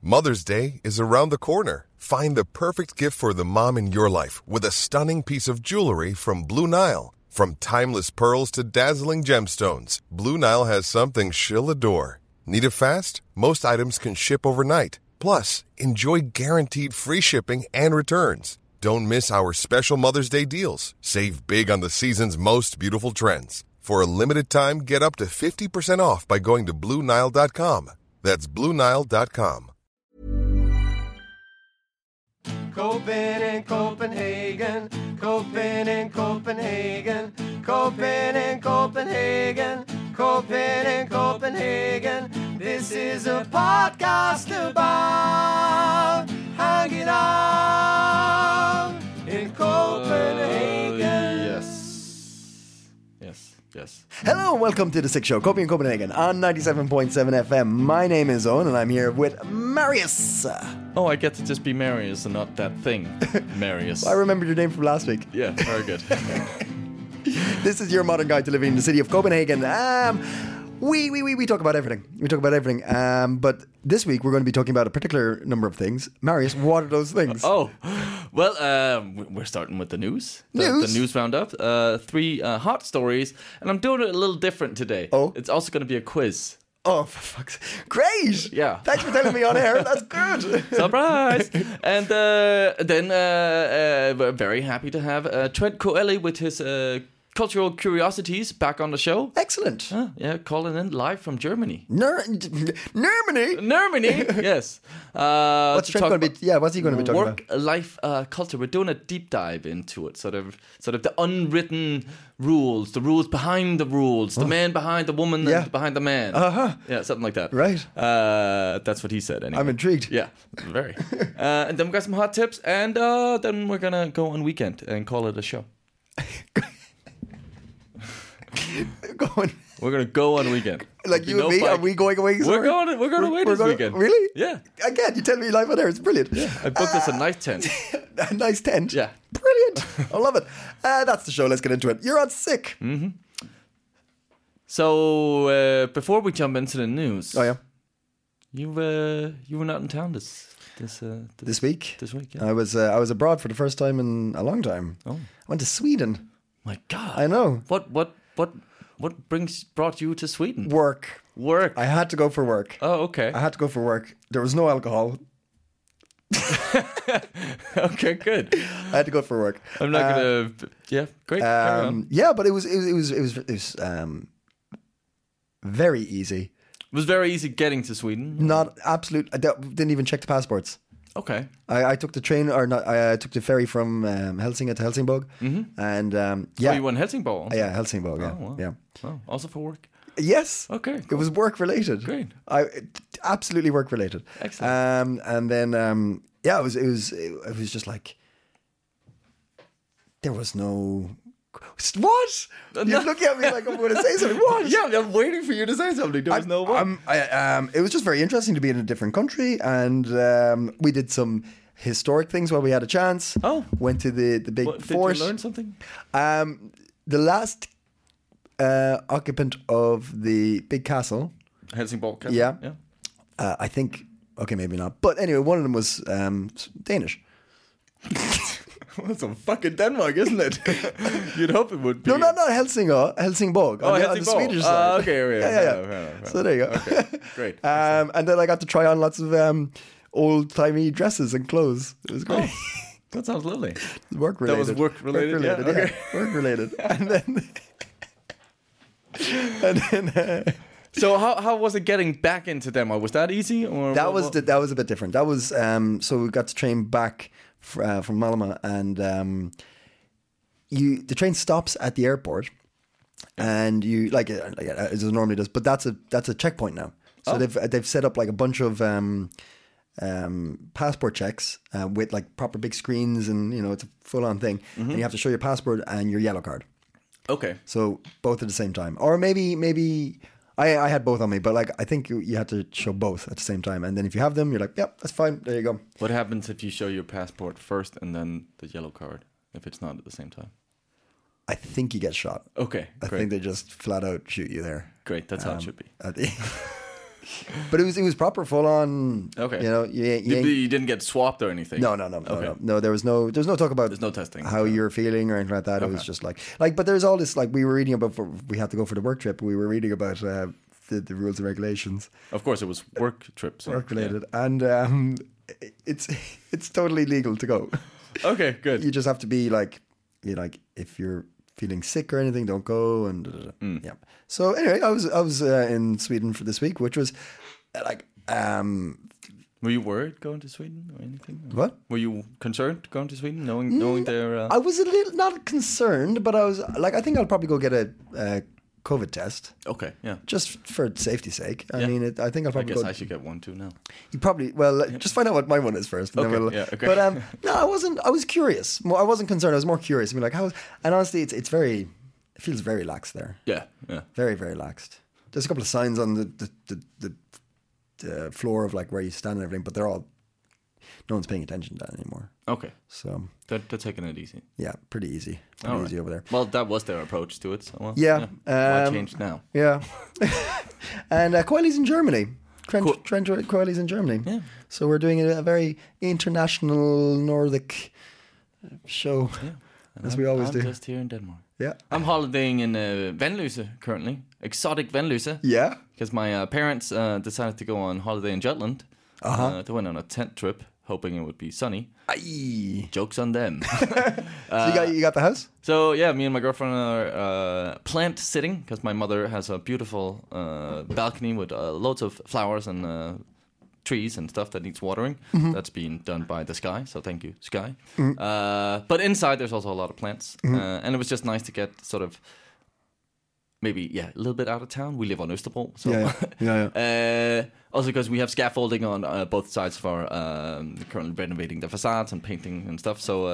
Mother's Day is around the corner. Find the perfect gift for the mom in your life with a stunning piece of jewelry from Blue Nile. From timeless pearls to dazzling gemstones, Blue Nile has something she'll adore. Need it fast? Most items can ship overnight. Plus, enjoy guaranteed free shipping and returns. Don't miss our special Mother's Day deals. Save big on the season's most beautiful trends. For a limited time, get up to 50% off by going to BlueNile.com. That's BlueNile.com. Copenhagen, Copenhagen, Copenhagen, Copenhagen, Copenhagen, Copenhagen, Copenhagen, Copenhagen. This is a podcast about hanging out in Copenhagen. Yes. Hello and welcome to The Sick Show, Copenhagen on 97.7 FM. My name is Owen and I'm here with Marius. Oh, I get to just be Marius and not that thing, Marius. I remember your name from last week. Yeah, very good. This is your modern guide to living in the city of Copenhagen. We talk about everything. But this week we're going to be talking about a particular number of things. Marius, what are those things? Oh, well, we're starting with the news. The news roundup. 3 hot stories, and I'm doing it a little different today. Oh. It's also going to be a quiz. Oh, for fuck's sake. Great! Yeah. Thanks for telling me on air. That's good. Surprise! And then we're very happy to have Trent Coeli with his cultural curiosities back on the show. Excellent. Calling in live from Germany. Germany? Germany, yes. What's Trent going to be? Yeah, what's he going to be talking about? Work-life culture. We're doing a deep dive into it, sort of the unwritten rules, the rules behind the rules, the man behind the woman and behind the man. Yeah, something like that. Right. That's what he said. Anyway. I'm intrigued. Yeah, very. And then we got some hot tips, and then we're gonna go on weekend and call it a show. We're gonna go on weekend. Like you and me, are we going away? We're going away this weekend. Really? Yeah. Again, you tell me live on air. It's brilliant. Yeah. I booked us a nice tent. A nice tent. Yeah. Brilliant. I love it. That's the show. Let's get into it. You're on sick. Mm-hmm. So before we jump into the news, oh yeah, you were not in town this week. This week, yeah. I was abroad for the first time in a long time. Oh, I went to Sweden. My God, I know. What brought you to Sweden? Work. I had to go for work. Oh, okay. I had to go for work. There was no alcohol. Okay, good. I had to go for work. I'm not gonna. Yeah, great. Yeah, but it was very easy. It was very easy getting to Sweden. Not absolute. I didn't even check the passports. Okay. I took the train, or not? I took the ferry from Helsinki to Helsingborg, and yeah. Oh, you went Helsingborg? Also? Yeah, Helsingborg. Yeah, oh, wow. yeah. Oh, also for work. Yes. Okay. Cool. It was work related. Great. Absolutely work related. Excellent. And then yeah, it was just like there was no. What? You're looking at me like I'm going to say something. What? Yeah, I'm waiting for you to say something. There was no what. It was just very interesting to be in a different country, and we did some historic things while we had a chance. Oh. Went to the big fort. Did you learn something? The last occupant of the big castle. Helsingborg Castle? Yeah. I think, okay, maybe not. But anyway, one of them was Danish. Well, that's some fucking Denmark, isn't it? You'd hope it would be. No, not Helsingborg. Oh, Helsingborg. On the Swedish side. Okay, yeah. So there you go. Okay, great. And then I got to try on lots of old-timey dresses and clothes. It was great. Oh, that sounds lovely. Work related. That was work related. Yeah. Okay. Work related. And then. So how was it getting back into Denmark? Was that easy, or that was a bit different? That was so we got to train back from Malmö, and the train stops at the airport, and you like as it normally does, but that's a checkpoint now. So they've set up like a bunch of passport checks with like proper big screens, and it's a full on thing, and you have to show your passport and your yellow card. Okay. So both at the same time, or maybe. I had both on me, but like I think you had to show both at the same time, and then if you have them, you're like, "Yep, that's fine. There you go." What happens if you show your passport first and then the yellow card? If it's not at the same time, I think you get shot. Okay, I think they just flat out shoot you there. Great, that's how it should be. But it was proper, full on. Okay. You know, you didn't get swapped or anything. No. There was no talk about. There's no testing. How you're feeling or anything like that. It was just like. But there's all this, like, we were reading about. We had to go for the work trip. We were reading about the rules and regulations. Of course, it was work trips. Work related, and it's totally legal to go. Okay, good. You just have to be like, if you're feeling sick or anything, don't go. And yeah. So anyway, I was in Sweden for this week, which was like. Were you worried going to Sweden or anything? What? Were you concerned going to Sweden, knowing their? I was a little not concerned, but I was like, I think I'll probably go get a COVID test. Okay, yeah. Just for safety's sake. I mean, I think I'll probably. I guess I should get one too now. You probably just find out what my one is first. And okay. Then we'll, yeah. Okay. But no, I wasn't. I was curious. I wasn't concerned. I was more curious. I mean, like how. And honestly, it feels very lax there. Yeah. Very, very laxed. There's a couple of signs on the floor of like where you stand and everything, but they're all. No one's paying attention to that anymore. Okay. So they're taking it easy. Yeah, pretty easy. Pretty easy over there. Well, that was their approach to it. So yeah. Why change now? Yeah. And Coiley's in Germany. Trent Coiley's in Germany. Yeah. So we're doing a very international Nordic show, as we always do. I'm just here in Denmark. Yeah. I'm holidaying in Vanløse currently. Exotic Vanløse. Yeah. Because my parents decided to go on holiday in Jutland. They went on a tent trip, hoping it would be sunny. Aye. Jokes on them. So you got the house? So yeah, me and my girlfriend are plant sitting because my mother has a beautiful balcony with loads of flowers and trees and stuff that needs watering. Mm-hmm. That's being done by the Sky. So thank you, Sky. Mm-hmm. But inside there's also a lot of plants, and it was just nice to get sort of. Maybe, a little bit out of town. We live on Østerbro. So. Yeah. Also because we have scaffolding on both sides of our currently renovating the facades and painting and stuff. So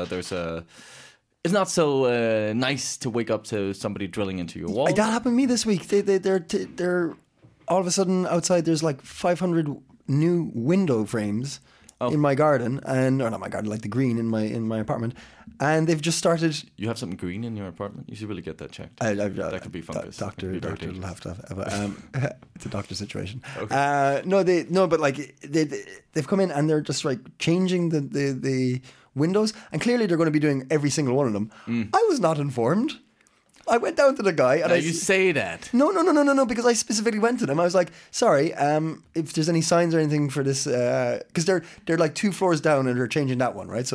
it's not so nice to wake up to somebody drilling into your wall. That happened to me this week. They're all of a sudden outside. There's like 500 new window frames in my garden, or not my garden, like the green in my apartment. And they've just started. You have something green in your apartment? You should really get that checked. That could be fungus. Doctor will have to have it's a doctor situation. Okay. But like they've come in and they're just like changing the windows, and clearly they're going to be doing every single one of them. I was not informed. I went down to the guy and you say that. No, because I specifically went to them. I was like, sorry, if there's any signs or anything for this, because they're like 2 floors down and they're changing that one, right? So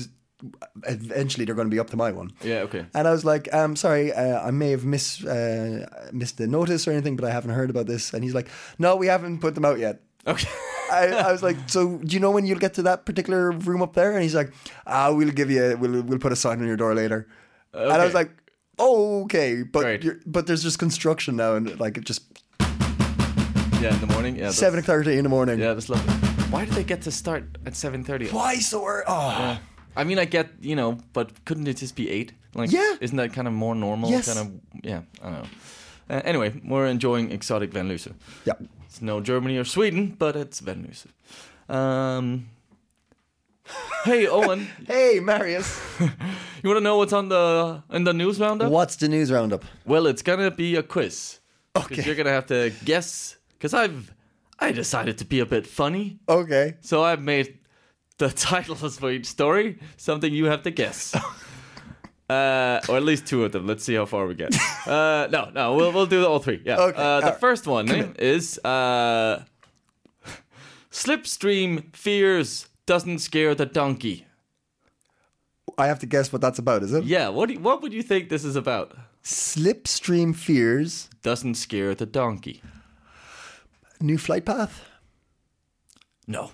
eventually they're going to be up to my one. Yeah, okay. And I was like, sorry, I may have missed the notice or anything, but I haven't heard about this. And he's like, no, we haven't put them out yet. Okay. I was like, so do you know when you'll get to that particular room up there? And he's like, we'll put a sign on your door later. Okay. And I was like, oh, okay, but there's just construction now, and like it just in the morning, 7:30 in the morning. Yeah, that's lovely. Why did they get to start at 7:30? Why so early? Oh, yeah. I mean, I get but couldn't it just be 8? Like, isn't that kind of more normal? Yes. Kind of, I don't know. Anyway, we're enjoying exotic Vanløse. Yeah, it's no Germany or Sweden, but it's Vanløse. Hey, Owen. Hey, Marius. You want to know what's in the news roundup? What's the news roundup? Well, it's gonna be a quiz. Okay. You're gonna have to guess. Because I decided to be a bit funny. Okay. So I've made the titles for each story something you have to guess. Or at least 2 of them. Let's see how far we get. No, we'll do all 3. Yeah. Okay. The first one is Slipstream fears doesn't scare the donkey. I have to guess what that's about, is it? Yeah. What would you think this is about? Slipstream fears doesn't scare the donkey. New flight path? No.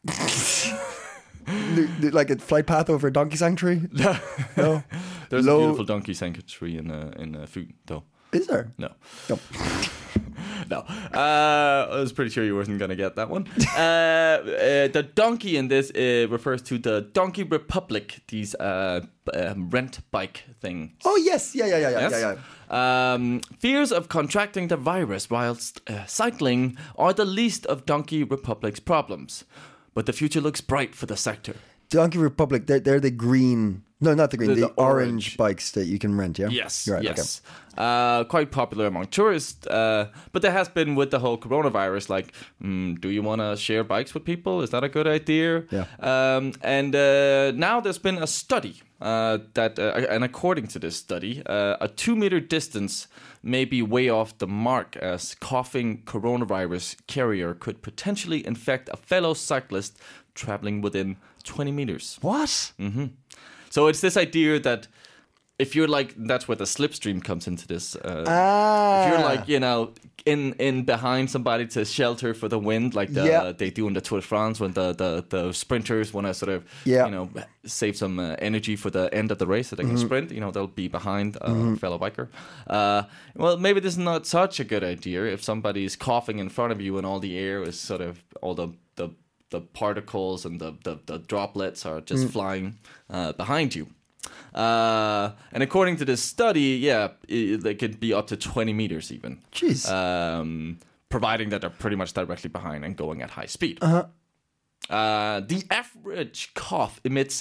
Like a flight path over a donkey sanctuary? No. There's a beautiful donkey sanctuary in Fyn, though. Is there? No. No. I was pretty sure you wasn't going to get that one. The donkey in this refers to the Donkey Republic, these rent bike things. Oh, yes. Yeah. Fears of contracting the virus whilst cycling are the least of Donkey Republic's problems. But the future looks bright for the sector. Donkey Republic, they're the green No, not the green. The The, orange orange. bikes that you can rent. Yeah. Yes, Right, yes. Quite popular among tourists. But there has been with the whole coronavirus, like, do you want to share bikes with people? Is that a good idea? Yeah. And now there's been a study and according to this study, a 2-meter distance may be way off the mark, as coughing coronavirus carrier could potentially infect a fellow cyclist traveling within 20 meters. What? So it's this idea that if you're like, that's where the slipstream comes into this. If you're like, in behind somebody to shelter for the wind, like they do in the Tour de France when the sprinters want to sort of, save some energy for the end of the race so they can sprint. They'll be behind a fellow biker. Well, maybe this is not such a good idea if somebody is coughing in front of you and all the air is sort of all the particles and the droplets are just flying behind you. And according to this study, they could be up to 20 meters even. Jeez. Providing that they're pretty much directly behind and going at high speed. The average cough emits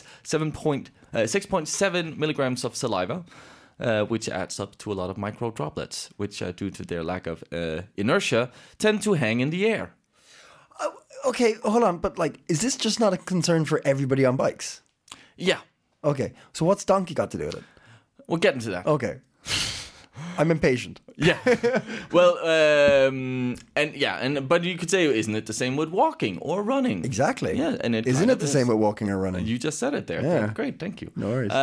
6.7 milligrams of saliva, which adds up to a lot of micro droplets, which, due to their lack of inertia, tend to hang in the air. Okay, hold on. But is this just not a concern for everybody on bikes? Yeah. Okay, so what's donkey got to do with it? We'll get into that. Okay. I'm impatient. Yeah. Well, but you could say, isn't it the same with walking or running? Exactly. Yeah, and isn't it the same with walking or running? You just said it there. Yeah. Great, thank you. No worries.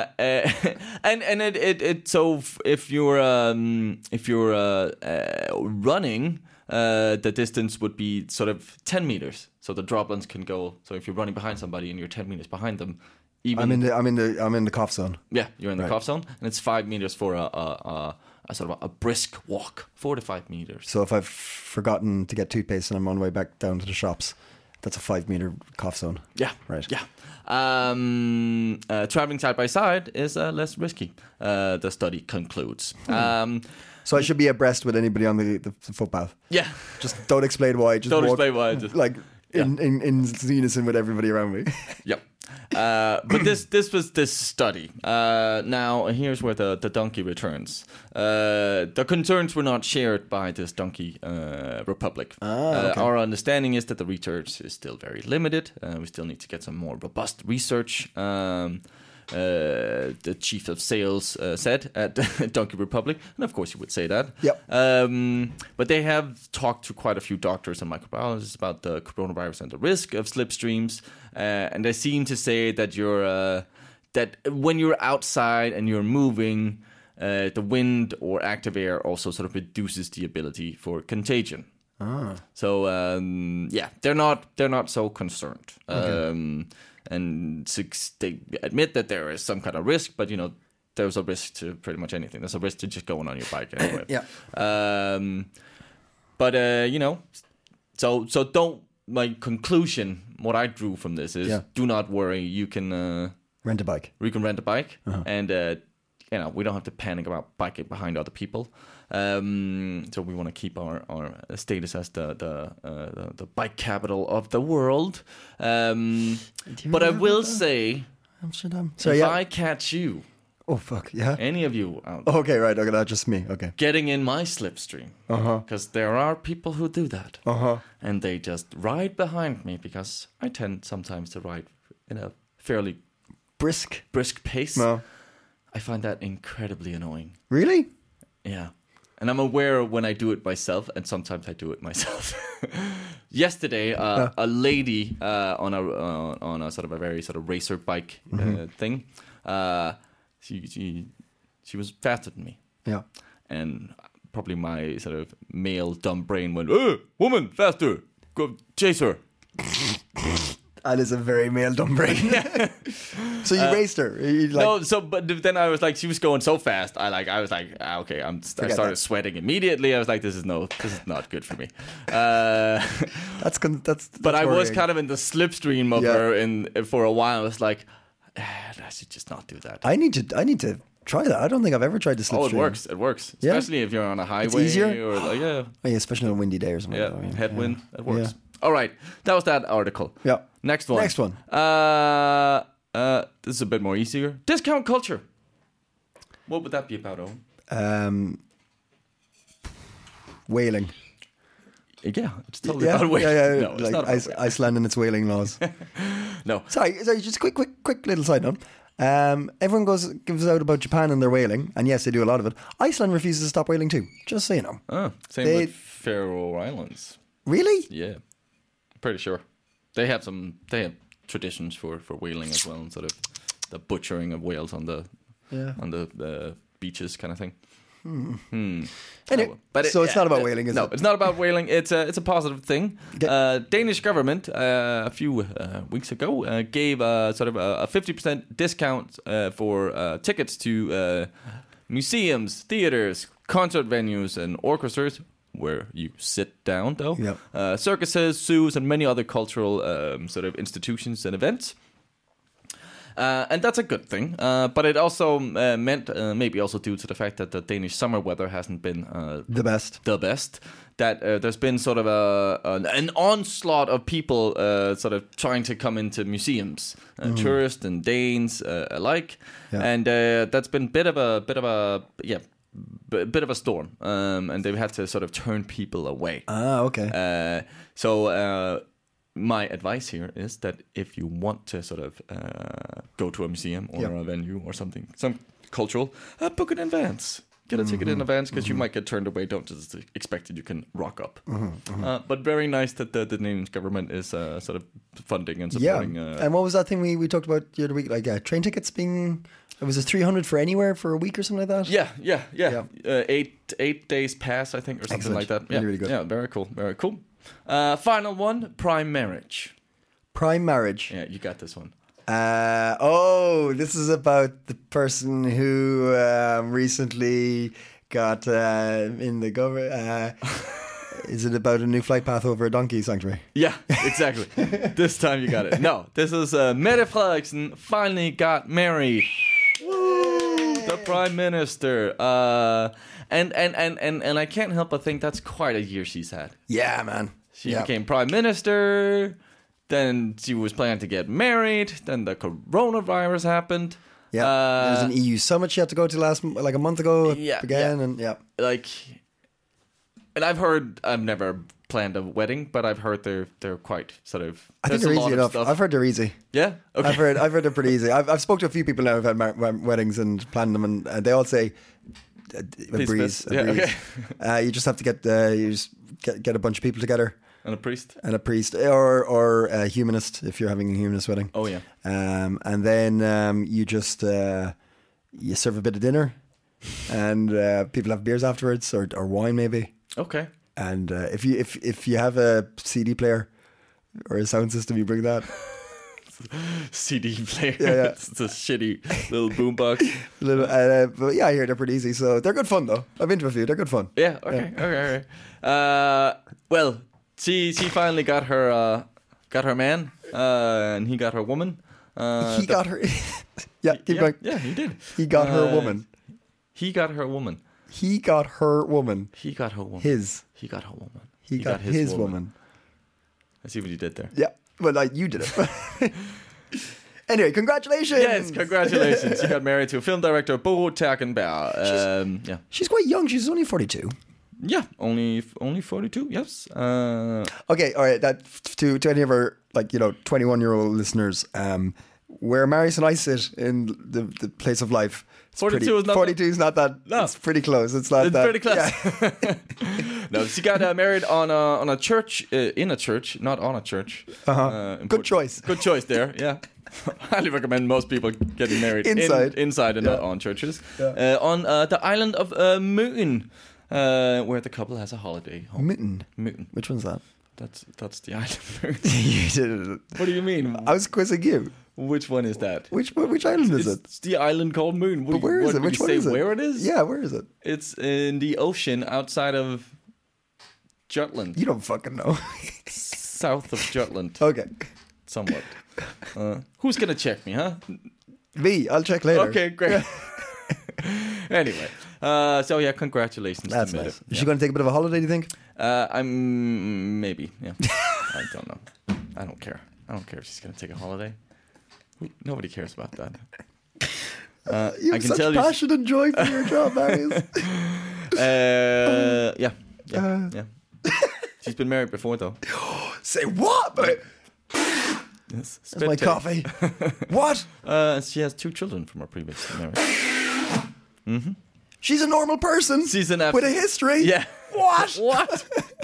So if you're running, the distance would be sort of 10 meters. So the droplets can go. So if you're running behind somebody and you're 10 meters behind them, I'm in the cough zone. Yeah, you're in the cough zone, and it's 5 meters for a sort of a brisk walk, 4 to 5 meters. So if I've forgotten to get toothpaste and I'm on the way back down to the shops, that's a 5 meter cough zone. Yeah, right. Yeah. Traveling side by side is less risky. The study concludes. So I should be abreast with anybody on the footpath. Yeah. Just don't explain why. Just don't walk, explain why. Just, in unison with everybody around me. Yep. But this was this study. Now here's where the donkey returns. The concerns were not shared by this donkey republic. Okay. Our understanding is that the research is still very limited. We still need to get some more robust research. The chief of sales said at Donkey Republic, and of course you would say that. Yep. But they have talked to quite a few doctors and microbiologists about the coronavirus and the risk of slipstreams, and they seem to say that that when you're outside and you're moving, the wind or active air also sort of reduces the ability for contagion. So they're not so concerned. Okay. And they admit that there is some kind of risk, but there's a risk to pretty much anything. There's a risk to just going on your bike anyway. Yeah. So don't. My conclusion, what I drew from this is, do not worry. You can rent a bike. You can rent a bike, and we don't have to panic about biking behind other people. So we want to keep our status as the bike capital of the world. But I will say, Amsterdam. I catch you, oh fuck yeah, any of you out there, okay, right, okay, that's just me. Okay, getting in my slipstream, because there are people who do that, and they just ride behind me because I tend sometimes to ride in a fairly brisk pace. No. I find that incredibly annoying. Really? Yeah. And I'm aware when I do it myself, and sometimes I do it myself. Yesterday, a lady on a sort of a very sort of racer bike thing, she was faster than me. Yeah. And probably my sort of male dumb brain went, woman, faster, go chase her. That is a very male dumb brain. So you raced her? But then I was like, she was going so fast. I was like, okay. I started sweating immediately. I was like, this is not good for me. That's but I was kind of in the slipstream of her for a while. I was like, I should just not do that. I need to try that. I don't think I've ever tried the slipstream. It works. Especially if you're on a highway. It's easier? Or especially on a windy day or something. Yeah, headwind. It works. All right. That was that article. Yeah. Next one. This is a bit more easier. Discount culture. What would that be about, Owen? Whaling. Yeah, it's totally about whaling. Yeah. No, it's like not about whaling. Iceland and its whaling laws. No. Sorry, just quick little side note. Everyone gives out about Japan and their whaling, and yes, they do a lot of it. Iceland refuses to stop whaling too, just so you know. Same with Faroe Islands. Really? Yeah, pretty sure. They have traditions for whaling as well, and sort of the butchering of whales on the beaches kind of thing. Anyway, it's not about whaling, is it? No, it's not about whaling. It's a positive thing. Okay. Danish government a few weeks ago gave sort of a 50% discount for tickets to museums, theaters, concert venues, and orchestras where you sit down, though. Yep. Circuses, zoos, and many other cultural sort of institutions and events. And that's a good thing, but it also meant, maybe also due to the fact that the Danish summer weather hasn't been the best, that there's been sort of an onslaught of people sort of trying to come into museums, tourists and Danes alike, and that's been bit of a storm, and they've had to sort of turn people away. Okay. My advice here is that if you want to sort of go to a museum or a venue or something, some cultural, book it in advance. Get a ticket in advance because you might get turned away. Don't just expect that you can rock up. But very nice that the Danish government is sort of funding and supporting. And what was that thing we talked about the other week? Like train tickets being... It was a 300 for anywhere for a week or something like that? Yeah. 8 days pass, I think, or something like that. Really, really good. Yeah, very cool. Final one, prime marriage. Prime marriage. Yeah, you got this one. This is about the person who recently got in the government. Is it about a new flight path over a donkey sanctuary? Yeah, exactly. This time you got it. No, this is Mette Frederiksen finally got married. Woo! The prime minister. And I can't help but think that's quite a year she's had. Yeah, man. She became prime minister. Then she was planning to get married. Then the coronavirus happened. Yeah, there was an EU summit she had to go to a month ago again. And and I've never planned a wedding, but I've heard they're quite sort of. I think they're easy enough. I've heard they're easy. Yeah, okay. I've heard they're pretty easy. I've spoken to a few people now who've had weddings and planned them, and they all say a breeze. Okay. You just have to get a bunch of people together. And a priest, or a humanist if you're having a humanist wedding. Oh yeah. And then you just you serve a bit of dinner, and people have beers afterwards, or wine maybe. Okay. And if you have a CD player or a sound system, you bring that. CD player. Yeah. It's a shitty little boombox. But I hear they're pretty easy, so they're good fun though. I've been to a few. They're good fun. Yeah. Okay. Well. She finally got her man, and he got her woman. He got her. Keep going. Yeah, he did. He got her woman. He got her woman. He got her woman. He got her woman. He got her woman. He got his woman. I see what you did there. Yeah, well, you did it. Anyway, congratulations. Yes, congratulations. She got married to film director Bo Terkenberg. She's quite young. She's only 42. Yeah, only 42. Yes. Okay, all right. That to any of our 21-year-old listeners, where Marius and I sit in the place of life, 42 is not. 42 is not that. No, it's pretty close. It's pretty close. Yeah. No, she got married on a church, in a church, not on a church. Good choice. Good choice there. Yeah. Highly recommend most people getting married inside and not on churches. Yeah. On the island of Møn. Where the couple has a holiday home. Mitten. Which one's that? That's the island. You did it. What do you mean? I was quizzing you. Which one is that? Which island is it? It's the island called Møn. Where is it? Which one is it? Where it is? Yeah, where is it? It's in the ocean outside of Jutland. You don't fucking know. South of Jutland. Okay. Somewhat. Who's gonna check me, huh? Me. I'll check later. Okay, great. Anyway, congratulations. That's nice. Is she going to take a bit of a holiday, do you think? I'm maybe. Yeah. I don't know. I don't care if she's going to take a holiday. Nobody cares about that. You have such passion and joy for your job, Marius. Yeah. She's been married before, though. Say what? Yes. That's my coffee. What? She has 2 children from her previous marriage. She's a normal person. She's an with a history. Yeah. What? What?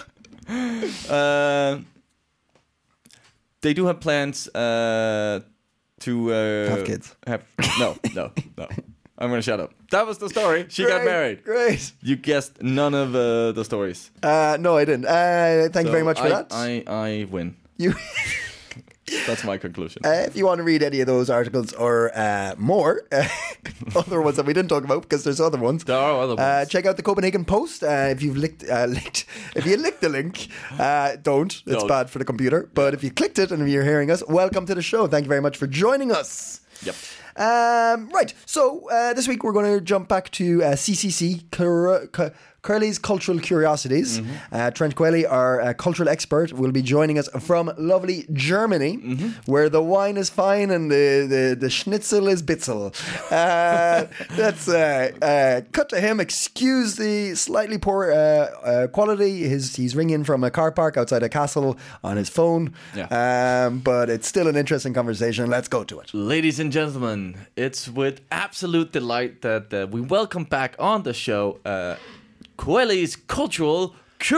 They do have plans to have kids. No. I'm gonna shut up. That was the story. She got married. Great. You guessed none of the stories. No, I didn't. Thank you very much for that. I win. You. That's my conclusion. If you want to read any of those articles or more, other ones that we didn't talk about because there's other ones. There are other ones. Check out the Copenhagen Post. If you've licked the link, don't. It's bad for the computer. But if you clicked it and you're hearing us, welcome to the show. Thank you very much for joining us. Yep. Right. So this week we're going to jump back to CCC. Curly's Cultural Curiosities. Trent Quelly, our cultural expert, will be joining us from lovely Germany, where the wine is fine and the schnitzel is bitzel. Let's cut to him. Excuse the slightly poor quality. He's ringing from a car park outside a castle on his phone. Yeah. But it's still an interesting conversation. Let's go to it. Ladies and gentlemen, it's with absolute delight that we welcome back on the show Quelly's Cultural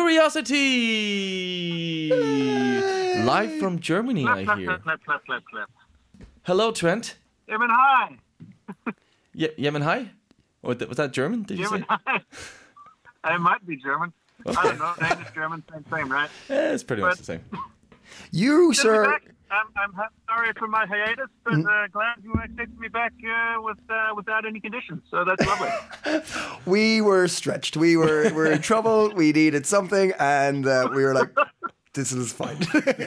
Curiosity! Live from Germany, I hear. Clap. Hello, Trent. Yemen, hi. Yemen, hi? Was that German, did you say? Hi. It might be German. Okay. I don't know. Danish, German, same, right? Yeah, it's pretty much the same. You, sir... I'm sorry for my hiatus, but glad you accepted me back without any conditions. So that's lovely. We were stretched. We were in trouble. We needed something, and we were like, "This is fine."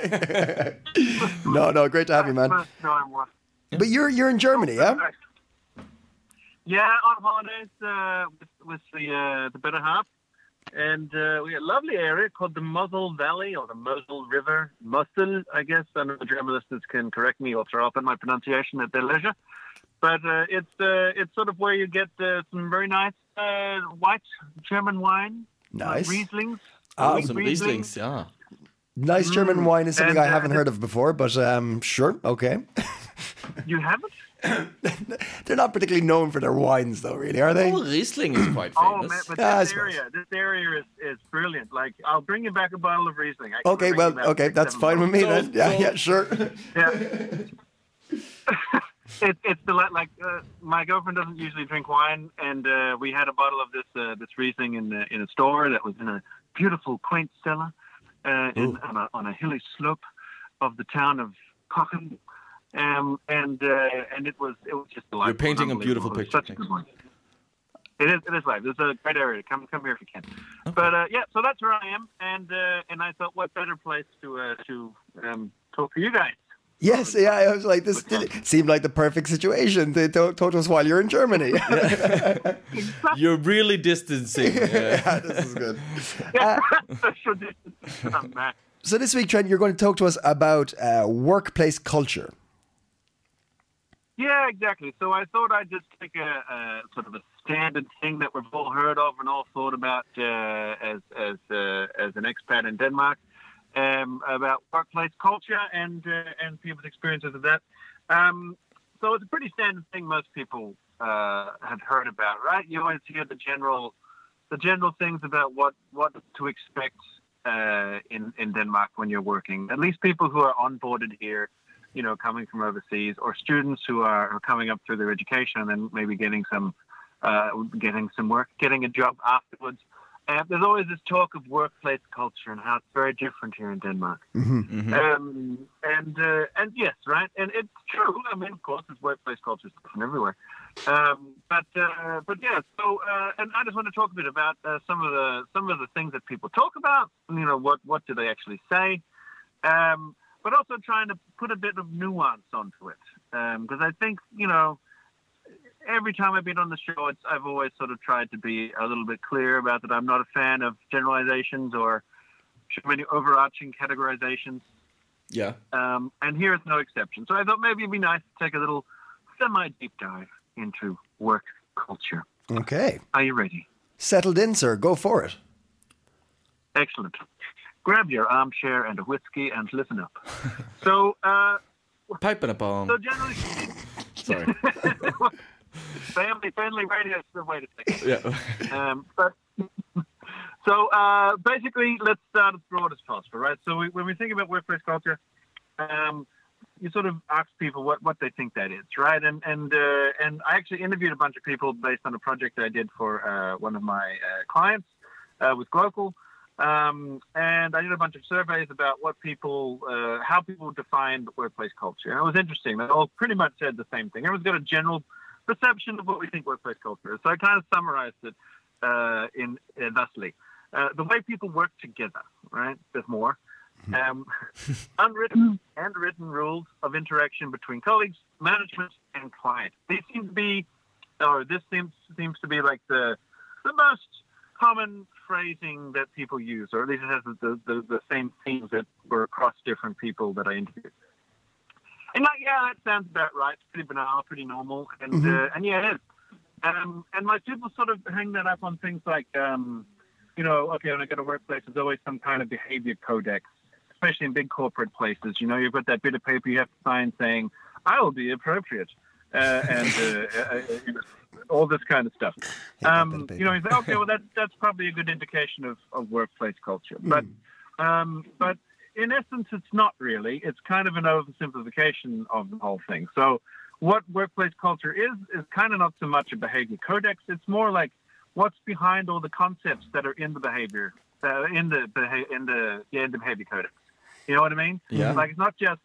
No, great to have you, man. No, I'm what? But you're in Germany, yeah? Yeah, on holidays with the better half. And we had a lovely area called the Mosel Valley or the Mosel River. Mosel, I guess. I know the German listeners can correct me or throw up in my pronunciation at their leisure. But it's sort of where you get some very nice white German wine. Nice. Rieslings. Some Rieslings, yeah. Nice German wine is something I haven't heard of before, but sure, okay. You haven't? They're not particularly known for their wines, though, really, are they? Oh, Riesling is quite Oh, famous. man, but this area is brilliant. Like, I'll bring you back a bottle of Riesling. Okay, well, okay, that's fine with me then. Yeah, sure. Yeah. It's like my girlfriend doesn't usually drink wine, and we had a bottle of this Riesling in a store that was in a beautiful, quaint cellar on a hilly slope of the town of Cochem. And it was just delightful. You're painting a beautiful picture. Such a good one. It is live. It's a great area. Come here if you can. Okay. But so that's where I am, and I thought, what better place to talk to you guys. Yes, yeah. I was like, this seemed like the perfect situation to talk to us while you're in Germany. You're really distancing. Yeah, this is good. So this week, Trent, you're going to talk to us about workplace culture. Yeah, exactly. So I thought I'd just take a sort of a standard thing that we've all heard of and all thought about as an expat in Denmark, about workplace culture and people's experiences of that. So it's a pretty standard thing most people have heard about, right? You always hear the general things about what to expect in Denmark when you're working. At least people who are onboarded here, you know, coming from overseas, or students who are coming up through their education and then maybe getting some work, getting a job afterwards. There's always this talk of workplace culture and how it's very different here in Denmark. Mm-hmm. And yes, right, and it's true. I mean, of course, it's workplace culture is different everywhere. But yeah. So, and I just want to talk a bit about some of the things that people talk about. You know, what do they actually say? But also trying to put a bit of nuance onto it, because I think, you know, every time I've been on the show, I've always sort of tried to be a little bit clear about that I'm not a fan of generalizations or too many overarching categorizations. Yeah. And here is no exception. So I thought maybe it'd be nice to take a little semi-deep dive into work culture. Okay. Are you ready? Settled in, sir. Go for it. Excellent. Grab your armchair and a whiskey and listen up. So, Pipe and a bomb. so generally, Sorry. family radio is the way to think. Yeah. But so basically, let's start as broad as possible, right? So when we think about workplace culture, you sort of ask people what they think that is, right? And I actually interviewed a bunch of people based on a project I did for one of my clients with Glocal. And I did a bunch of surveys about how people define workplace culture. And it was interesting. They all pretty much said the same thing. Everyone's got a general perception of what we think workplace culture is. So I kind of summarized it thusly. The way people work together, right? There's more. Unwritten and written rules of interaction between colleagues, management, and client. This seems to be like the most common phrasing that people use, or at least it has the same themes that were across different people that I interviewed. And that sounds about right. It's pretty banal, pretty normal, and yeah, it is. And like people sort of hang that up on things like, okay, when I go to workplace, there's always some kind of behavior codex, especially in big corporate places. You've got that bit of paper you have to sign saying, "I will be appropriate," and all this kind of stuff. You say, okay, well, that's probably a good indication of workplace culture. But in essence, it's not really. It's kind of an oversimplification of the whole thing. So what workplace culture is kind of not so much a behavior codex. It's more like what's behind all the concepts that are in the behavior, in the behavior codex. You know what I mean? Yeah. Like, it's not just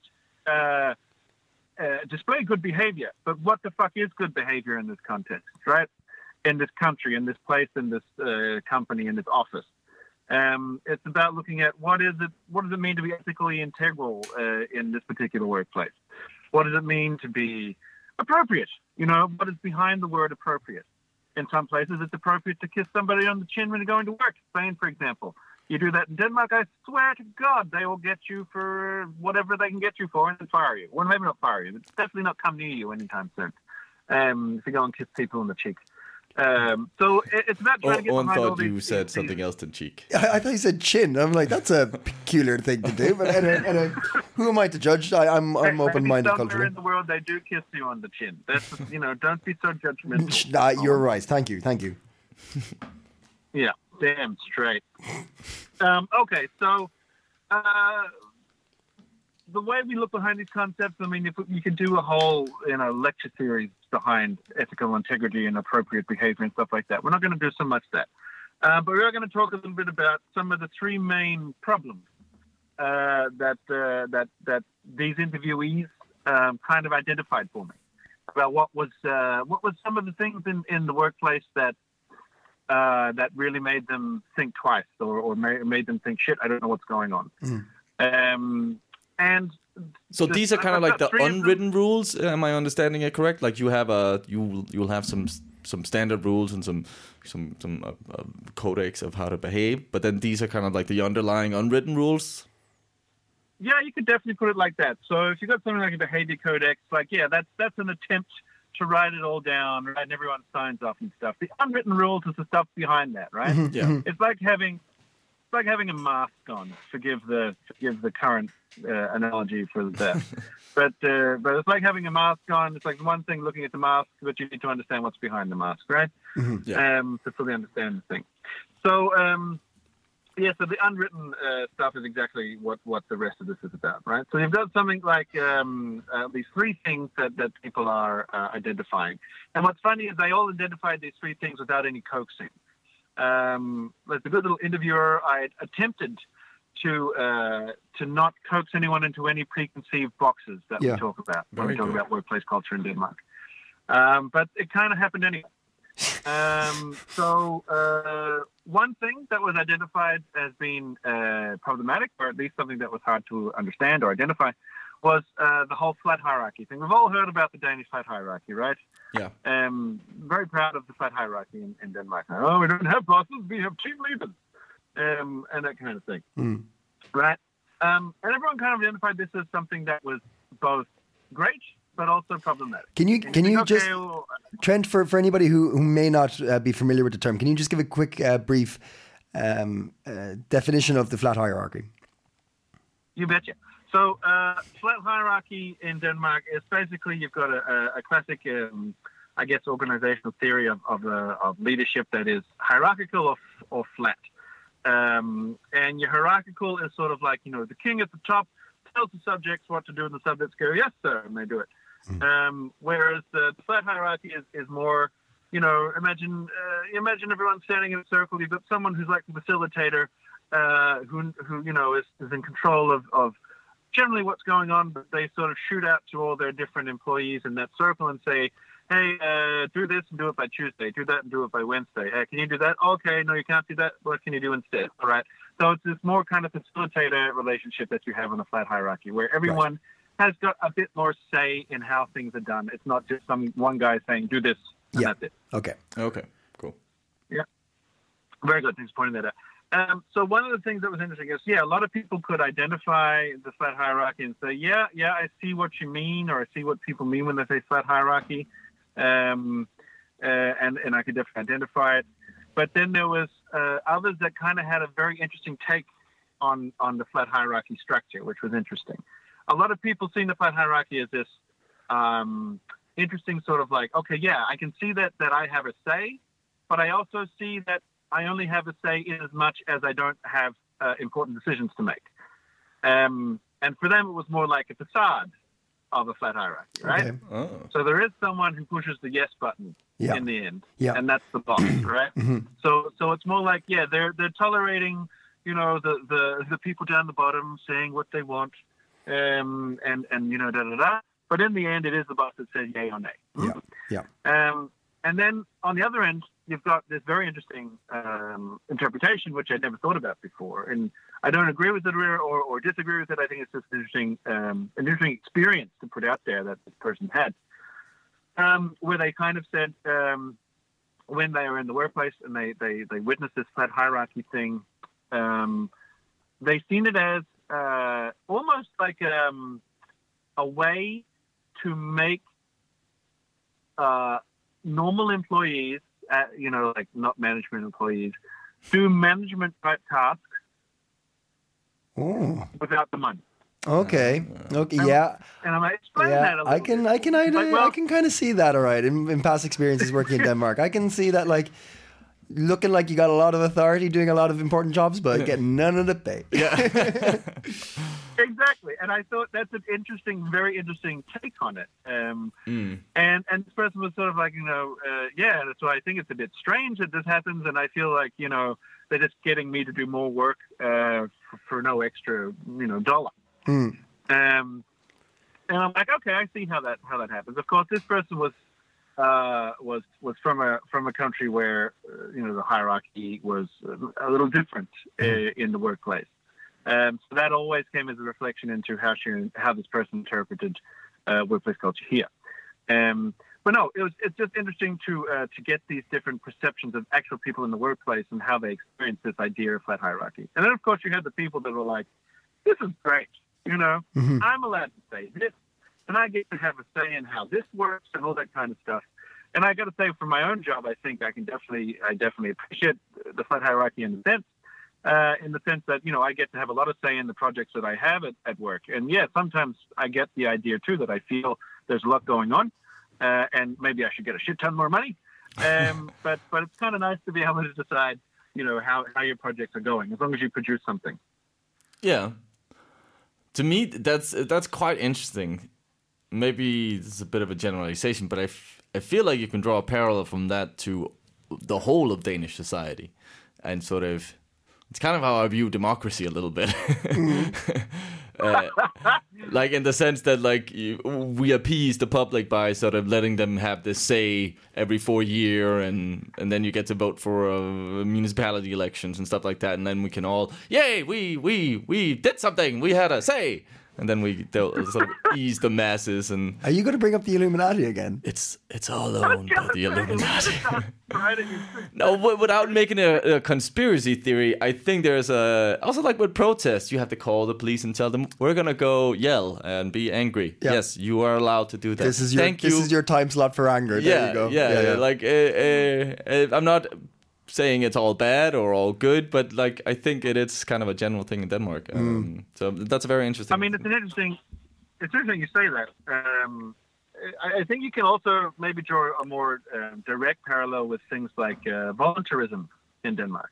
display good behavior, but what the fuck is good behavior in this context, right? In this country, in this place, in this company, in this office. It's about looking at what does it mean to be ethically integral in this particular workplace? What does it mean to be appropriate? What is behind the word appropriate? In some places, it's appropriate to kiss somebody on the chin when you're going to work. Spain, for example. You do that in Denmark, I swear to God, they will get you for whatever they can get you for and then fire you. Well, maybe not fire you, but definitely not come near you anytime soon. If you go and kiss people on the cheek. So it's about trying to get behind all thought these... you said something else than cheek. I thought you said chin. I'm like, that's a peculiar thing to do. But who am I to judge? I'm open-minded somewhere culturally. in the world, they do kiss you on the chin. That's don't be so judgmental. You're right. Thank you. Yeah, damn straight. Okay, so the way we look behind these concepts, I mean, if you could do a whole lecture series behind ethical integrity and appropriate behavior and stuff like that. We're not going to do so much that. But we are going to talk a little bit about some of the three main problems that these interviewees kind of identified for me about what was some of the things in the workplace that really made them think twice or made them think, shit, I don't know what's going on. And so these are kind of like the unwritten rules. Am I understanding it correct? Like you have you'll have some standard rules and some codex of how to behave, but then these are kind of like the underlying unwritten rules. Yeah, you could definitely put it like that. So if you got something like a behavior codex, like that's an attempt to write it all down, right? And everyone signs off and stuff. The unwritten rules is the stuff behind that, right? Yeah, it's like having a mask on. Forgive the current analogy for that, but it's like having a mask on. It's like one thing looking at the mask, but you need to understand what's behind the mask, right? To fully understand the thing. So so the unwritten stuff is exactly what the rest of this is about, right? So you've got something like these three things that people are identifying, and what's funny is they all identified these three things without any coaxing. As a good little interviewer, I attempted to not coax anyone into any preconceived boxes that we talk about when we talk about workplace culture in Denmark. But it kind of happened anyway. So one thing that was identified as being problematic, or at least something that was hard to understand or identify, was the whole flat hierarchy thing. We've all heard about the Danish flat hierarchy, right? Yeah. Very proud of the flat hierarchy in Denmark. We don't have bosses, we have team leaders, and that kind of thing. Right? And everyone kind of identified this as something that was both great but also problematic. Can you just, Trent, for anybody who may not be familiar with the term, can you just give a quick, brief definition of the flat hierarchy? You betcha. So, flat hierarchy in Denmark is basically you've got a classic, organizational theory of leadership that is hierarchical or flat. And your hierarchical is sort of like, the king at the top tells the subjects what to do, and the subjects go, yes, sir, and they do it. Whereas the flat hierarchy is more, imagine everyone standing in a circle. You've got someone who's like the facilitator, who is in control of generally what's going on, but they sort of shoot out to all their different employees in that circle and say, hey, do this and do it by Tuesday. Do that and do it by Wednesday. Hey, can you do that? Okay, no, you can't do that. What can you do instead? All right. So it's this more kind of facilitator relationship that you have in a flat hierarchy where everyone has got a bit more say in how things are done. It's not just one guy saying, do this, and that's it. Okay, cool. Yeah. Very good. Thanks for pointing that out. So one of the things that was interesting is, a lot of people could identify the flat hierarchy and say, yeah, I see what you mean, or I see what people mean when they say flat hierarchy. And I could definitely identify it. But then there was others that kind of had a very interesting take on the flat hierarchy structure, which was interesting. A lot of people see the flat hierarchy as this interesting sort of like, okay, I can see that I have a say, but I also see that I only have a say in as much as I don't have important decisions to make. And for them, it was more like a facade of a flat hierarchy, right? Okay. Oh. So there is someone who pushes the yes button in the end, and that's the boss, right? So it's more like, they're tolerating, the people down the bottom saying what they want, and da. But in the end, it is the boss that says yay or nay. And then on the other end, you've got this very interesting interpretation, which I'd never thought about before. And I don't agree with it or disagree with it. I think it's just an interesting experience to put out there that this person had, where they kind of said when they were in the workplace and they witnessed this flat hierarchy thing, they seen it as almost like a way to make normal employees, like not management employees, do management type tasks without the money. Okay. Yeah. And I'm explaining that a little bit. I can kind of see that. All right, in past experiences working in Denmark, I can see that like looking like you got a lot of authority, doing a lot of important jobs, but getting none of the pay. Yeah. Exactly. And I thought that's an interesting, very interesting take on it. And this person was sort of like, so I think it's a bit strange that this happens. And I feel like, they're just getting me to do more work for no extra, dollar. And I'm like, okay, I see how that happens. Of course, this person was from a country where, the hierarchy was a little different in the workplace. So that always came as a reflection into how this person interpreted workplace culture here. But no, it's just interesting to get these different perceptions of actual people in the workplace and how they experience this idea of flat hierarchy. And then, of course, you had the people that were like, this is great, I'm allowed to say this, and I get to have a say in how this works and all that kind of stuff. And I got to say, for my own job, I think I definitely appreciate the flat hierarchy in the sense that, I get to have a lot of say in the projects that I have at work. And sometimes I get the idea too that I feel there's a lot going on, and maybe I should get a shit ton more money. But it's kind of nice to be able to decide, how your projects are going, as long as you produce something. Yeah. To me, that's quite interesting. Maybe it's a bit of a generalization, but I feel like you can draw a parallel from that to the whole of Danish society, and sort of it's kind of how I view democracy a little bit. Like in the sense that like we appease the public by sort of letting them have this say every 4 years, and then you get to vote for municipality elections and stuff like that, and then we can all, yay, we did something, we had a say. and then they'll sort of ease the masses. And Are you going to bring up the Illuminati again? it's all owned by the Illuminati. No, without making a conspiracy theory, I think there's also like with protests, you have to call the police and tell them we're gonna go yell and be angry. Yeah. Yes, you are allowed to do that. This is your time slot for anger. There you go. Yeah. Like I'm not saying it's all bad or all good, but like I think it's kind of a general thing in Denmark. So that's a very interesting. I mean, it's interesting you say that. I think you can also maybe draw a more direct parallel with things like volunteerism in Denmark.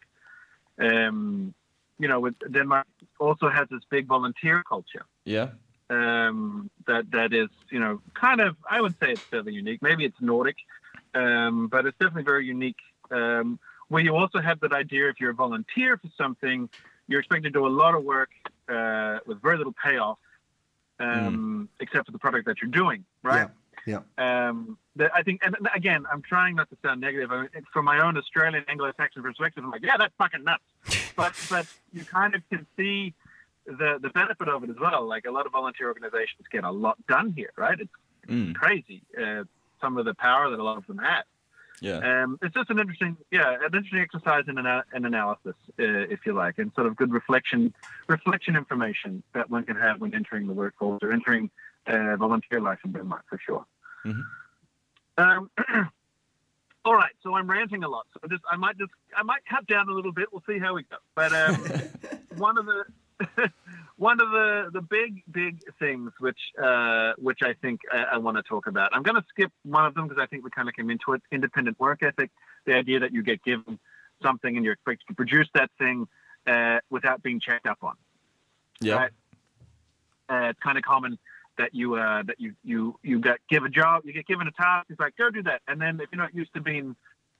With Denmark also has this big volunteer culture. Yeah. That is, kind of, I would say it's fairly unique. Maybe it's Nordic, but it's definitely very unique. Where you also have that idea if you're a volunteer for something, you're expected to do a lot of work with very little payoff, except for the product that you're doing, right? Yeah. I think, and again, I'm trying not to sound negative. I mean, from my own Australian Anglo-Saxon perspective, I'm like, yeah, that's fucking nuts. But you kind of can see the benefit of it as well. Like a lot of volunteer organizations get a lot done here, right? It's crazy. Some of the power that a lot of them have. Yeah. It's just an interesting exercise in analysis, if you like, and sort of good reflection information that one can have when entering the workforce or entering volunteer life in Denmark, for sure. Mm-hmm. All right, so I'm ranting a lot. So I might cut down a little bit. We'll see how we go. But one of the big things which I think I want to talk about. I'm going to skip one of them because I think we kind of came into it. Independent work ethic, the idea that you get given something and you're expected to produce that thing without being checked up on. Yeah, right? It's kind of common that you get given a task. It's like, go do that, and then if you're not used to being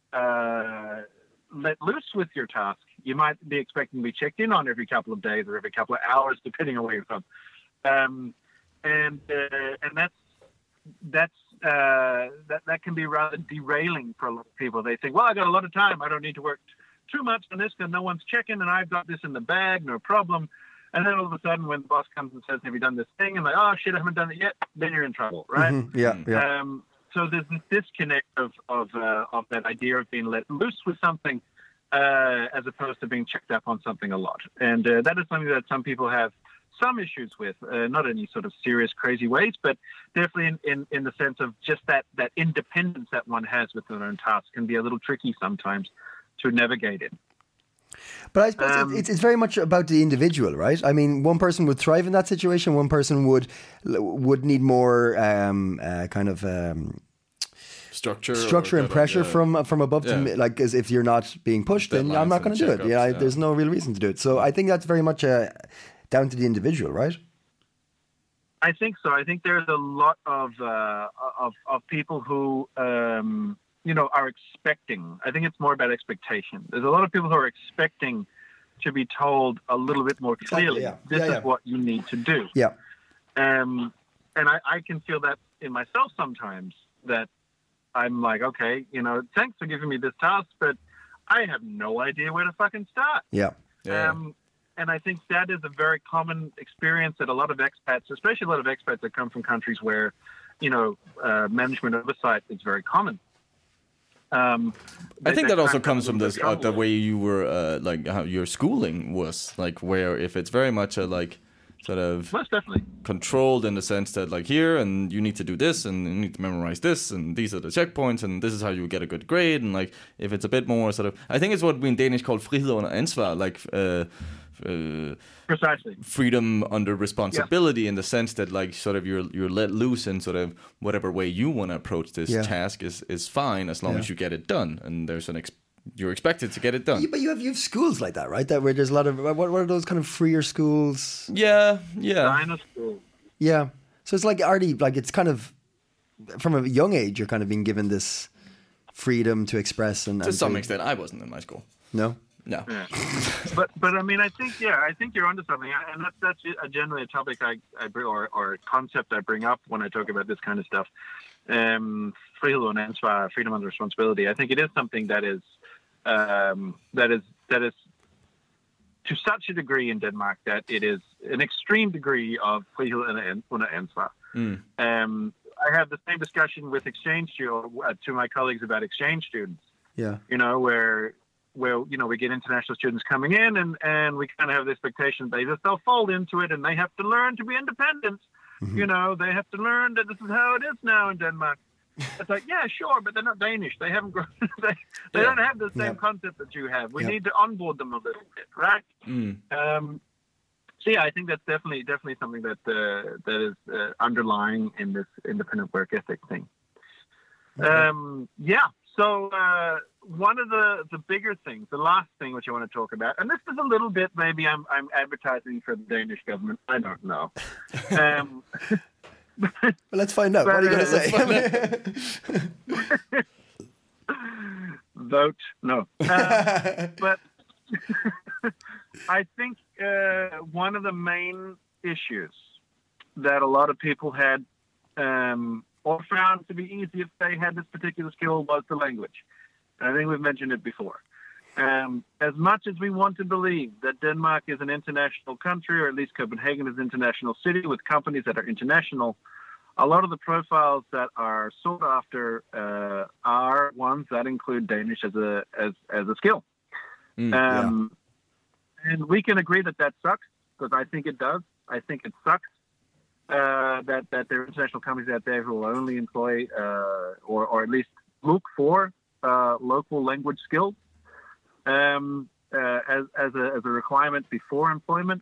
let loose with your task, you might be expecting to be checked in on every couple of days or every couple of hours, depending on where you're from. And that can be rather derailing for a lot of people. They think, well, I got a lot of time. I don't need to work too much on this because no one's checking, and I've got this in the bag, no problem. And then all of a sudden, when the boss comes and says, "Have you done this thing?" and like, "Oh shit, I haven't done it yet," then you're in trouble, right? Mm-hmm. Yeah. So there's this disconnect of that idea of being let loose with something, as opposed to being checked up on something a lot. And that is something that some people have some issues with, not in any sort of serious, crazy ways, but definitely in the sense of just that independence that one has with their own tasks can be a little tricky sometimes to navigate it. But I suppose it's very much about the individual, right? I mean, one person would thrive in that situation. One person would need more structure and pressure from above to like, as if you're not being pushed, then I'm not going to do it. There's no real reason to do it. So I think that's very much down to the individual, right? I think so. I think there's a lot of people who are expecting. I think it's more about expectation. There's a lot of people who are expecting to be told a little bit more clearly, this is what you need to do. Yeah. And I can feel that in myself sometimes, that I'm like, okay, thanks for giving me this task, but I have no idea where to fucking start. Yeah. And I think that is a very common experience that a lot of expats, especially a lot of expats that come from countries where, management oversight is very common. I think that also comes from this the way you were like how your schooling was, like, where if it's very much a like sort of most definitely controlled in the sense that like here and you need to do this and you need to memorize this and these are the checkpoints and this is how you get a good grade, and like if it's a bit more sort of, I think it's what we in Danish call frihed under ansvar, like precisely freedom under responsibility, in the sense that like sort of you're let loose in sort of whatever way you want to approach this task is fine as long as you get it done, and there's you're expected to get it done. Yeah, but you have schools like that, right? That where there's a lot of what are those kind of freer schools? Yeah. School. Yeah. So it's like already like it's kind of from a young age you're kind of being given this freedom to express and to some extent. I wasn't in my school. No. Yeah. but I mean, I think you're onto something, and that's generally a topic I bring or a concept I bring up when I talk about this kind of stuff. Frihed under ansvar, freedom under responsibility. I think it is something that is to such a degree in Denmark that it is an extreme degree of frihed under ansvar. I have the same discussion with exchange to my colleagues about exchange students. Yeah. You know, where we get international students coming in, and we kind of have the expectation they'll fold into it, and they have to learn to be independent. You know, they have to learn that this is how it is now in Denmark. It's like, yeah, sure, but they're not Danish. They haven't grown. They don't have the same concept that you have. We need to onboard them a little bit, right? So yeah, I think that's definitely something that is underlying in this independent work ethic thing. So one of the bigger things, the last thing which I want to talk about, and this is a little bit, maybe I'm advertising for the Danish government. I don't know. Well, let's find out. What are you going to say? Vote no. But I think one of the main issues that a lot of people had or found to be easy if they had this particular skill was the language. And I think we've mentioned it before. As much as we want to believe that Denmark is an international country, or at least Copenhagen is an international city with companies that are international, a lot of the profiles that are sought after are ones that include Danish as a skill. And we can agree that sucks, because I think it does. I think it sucks that there are international companies out there who will only employ or at least look for local language skills as a requirement before employment.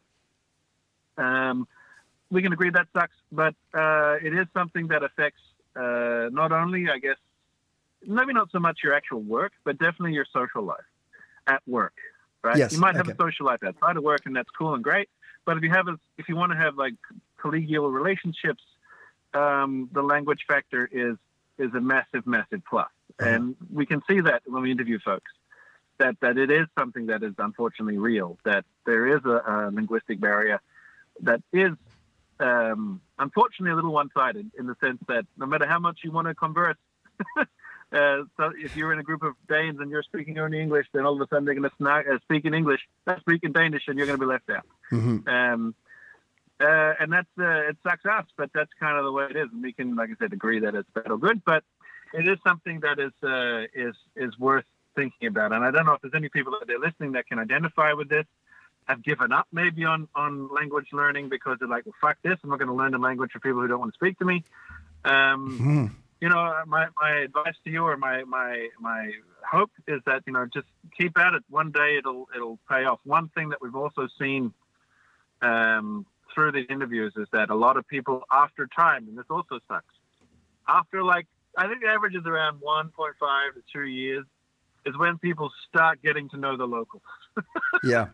We can agree that sucks, but it is something that affects not only, I guess, maybe not so much your actual work, but definitely your social life at work. Right? Yes, you might have a social life outside of work, and that's cool and great. But if you want to have like collegial relationships, the language factor is a massive plus. And we can see that when we interview folks, that it is something that is unfortunately real. That there is a linguistic barrier that is unfortunately a little one-sided, in the sense that no matter how much you want to converse. So if you're in a group of Danes and you're speaking only English, then all of a sudden they're going to speak in English, speak in Danish, and you're going to be left out. And that's it sucks us, but that's kind of the way it is. And we can, like I said, agree that it's bad or good, but it is something that is worth thinking about. And I don't know if there's any people that are listening that can identify with this, have given up maybe on language learning because they're like, well, fuck this, I'm not going to learn the language for people who don't want to speak to me. You know, my advice to you, or my hope, is that, you know, just keep at it. One day it'll pay off. One thing that we've also seen through these interviews is that a lot of people, after time, and this also sucks, after like, I think the average is around 1.5 to 2 years, is when people start getting to know the locals. Yeah.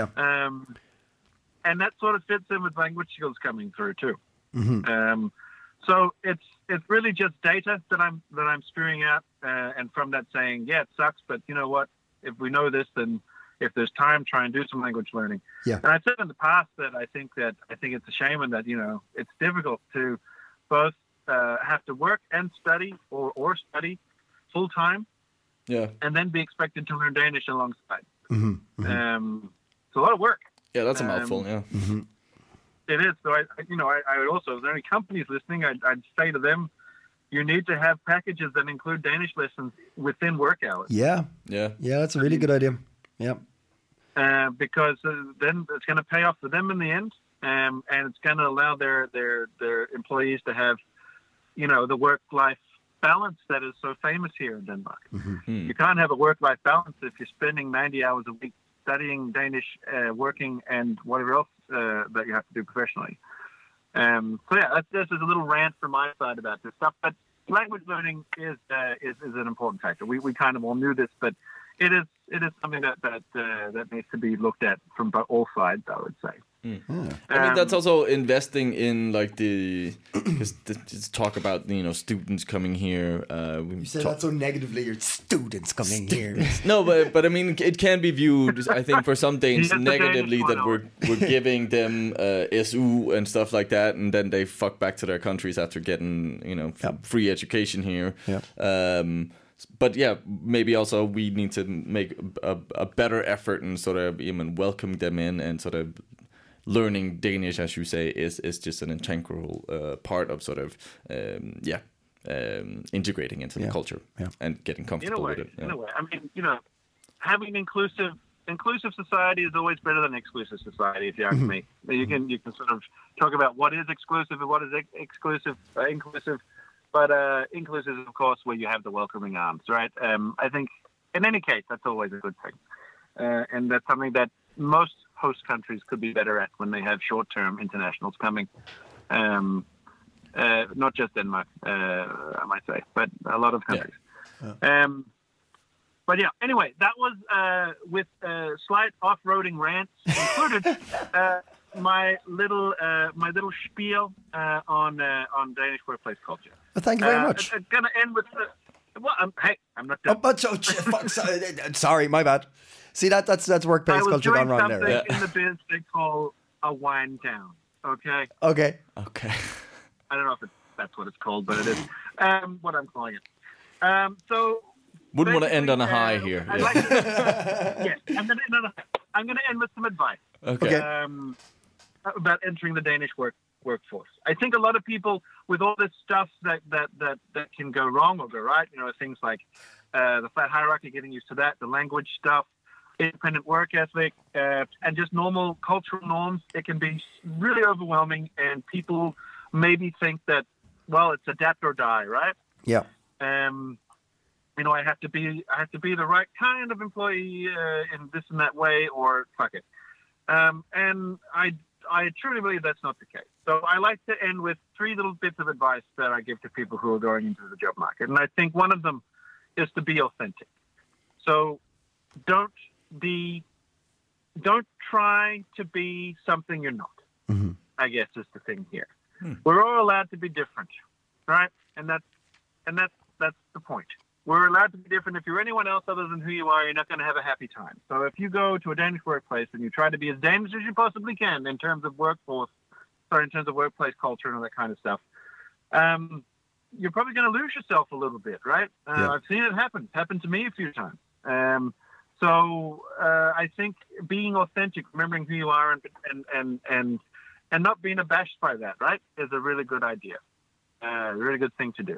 And that sort of fits in with language skills coming through too. So it's really just data that I'm spewing out, and from that saying, yeah, it sucks, but you know what? If we know this, then if there's time, try and do some language learning. Yeah. And I said in the past that I think it's a shame, and that, you know, it's difficult to both have to work and study or study full time. Yeah. And then be expected to learn Danish alongside. It's a lot of work. Yeah, that's a mouthful. Yeah. It is. So I would also, if there are any companies listening, I'd say to them, you need to have packages that include Danish lessons within work hours. Yeah, that's a really good idea. Yeah. Because then it's going to pay off for them in the end, and it's going to allow their employees to have, you know, the work-life balance that is so famous here in Denmark. You can't have a work-life balance if you're spending 90 hours a week studying Danish, working, and whatever else that you have to do professionally. So yeah, this is a little rant from my side about this stuff. But language learning is an important factor. We kind of all knew this, but it is something that needs to be looked at from all sides, I would say. I mean, that's also investing in like because just talk about, you know, students coming here. You say that so negatively. Your students coming here. No, but I mean, it can be viewed, I think, for some Danes negatively, that we're giving them SU and stuff like that, and then they fuck back to their countries after getting, you know, free education here. But yeah, maybe also we need to make a better effort in sort of even welcoming them in and sort of learning Danish, as you say, is just an integral part of sort of integrating into the culture and getting comfortable with it. In a way, I mean, having inclusive society is always better than exclusive society, if you ask me. You can sort of talk about what is exclusive and what is inclusive, but inclusive is, of course, where you have the welcoming arms, right? I think, in any case, that's always a good thing. And that's something that most host countries could be better at when they have short-term internationals coming. Not just Denmark, I might say, but a lot of countries. Yeah. But yeah, anyway, that was with slight off-roading rants included. My little spiel on Danish workplace culture. Well, thank you very much. I'm gonna end with I'm not done. Oh, but sorry, my bad. See that's workplace culture gone wrong there. I was doing something in the biz they call a wind down. Okay. Okay. I don't know if that's what it's called, but it is what I'm calling it. So. Wouldn't want to end on a high here. Yes, I'm going to end with some advice. Okay. About entering the Danish workforce. I think a lot of people, with all this stuff that can go wrong or go right, things like the flat hierarchy, getting used to that, the language stuff, independent work ethic, and just normal cultural norms, it can be really overwhelming, and people maybe think that, well, it's adapt or die, right? Yeah. I have to be the right kind of employee in this and that way, or fuck it. And I truly believe that's not the case. So I like to end with 3 little bits of advice that I give to people who are going into the job market. And I think one of them is to be authentic. So don't try to be something you're not. Mm-hmm. I guess is the thing here. We're all allowed to be different, right? And that's the point. We're allowed to be different. If you're anyone else other than who you are, you're not going to have a happy time. So if you go to a Danish workplace and you try to be as Danish as you possibly can in terms of in terms of workplace culture and all that kind of stuff, you're probably going to lose yourself a little bit, right? I've seen it happen. It's happened to me a few times. So I think being authentic, remembering who you are, and not being abashed by that, right, is a really good idea. A really good thing to do.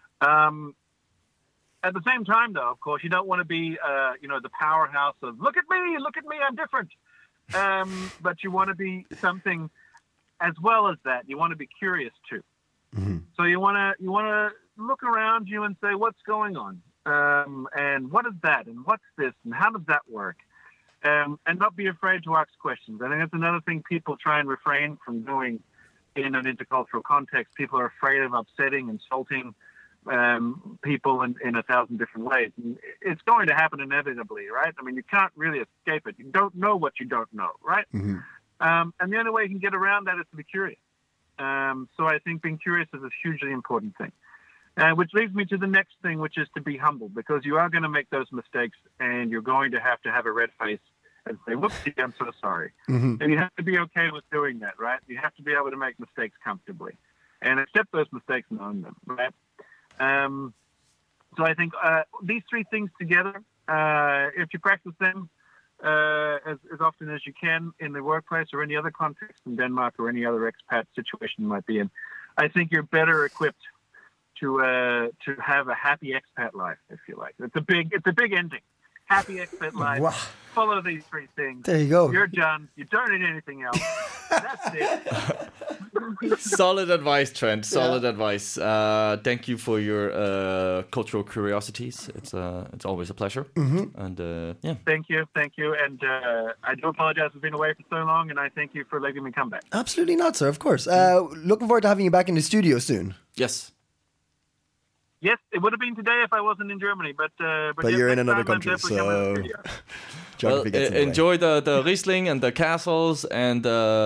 At the same time, though, of course, you don't want to be, the powerhouse of look at me, I'm different. But you want to be something as well as that. You want to be curious too. Mm-hmm. So you want to look around you and say, what's going on, and what is that, and what's this, and how does that work, and not be afraid to ask questions. I think that's another thing people try and refrain from doing in an intercultural context. People are afraid of upsetting, insulting people in 1,000 different ways. And it's going to happen inevitably, right? I mean, you can't really escape it. You don't know what you don't know, right? Mm-hmm. And the only way you can get around that is to be curious. So I think being curious is a hugely important thing. Which leads me to the next thing, which is to be humble, because you are going to make those mistakes, and you're going to have a red face and say, whoopsie, I'm so sorry. Mm-hmm. And you have to be okay with doing that, right? You have to be able to make mistakes comfortably and accept those mistakes and own them, right? So I think these 3 things together, if you practice them as often as you can in the workplace or any other context in Denmark or any other expat situation you might be in, I think you're better equipped to have a happy expat life, if you like. It's a big ending. Happy expat life. Wow. Follow these 3 things. There you go. You're done. You don't need anything else. That's it. Solid advice, Trent. Solid advice. Thank you for your cultural curiosities. It's always a pleasure. Mm-hmm. And Thank you. And I do apologize for being away for so long, and I thank you for letting me come back. Absolutely not, sir. Of course. Looking forward to having you back in the studio soon. Yes. Yes, it would have been today if I wasn't in Germany, but you're in another country, so enjoy the Riesling and the castles and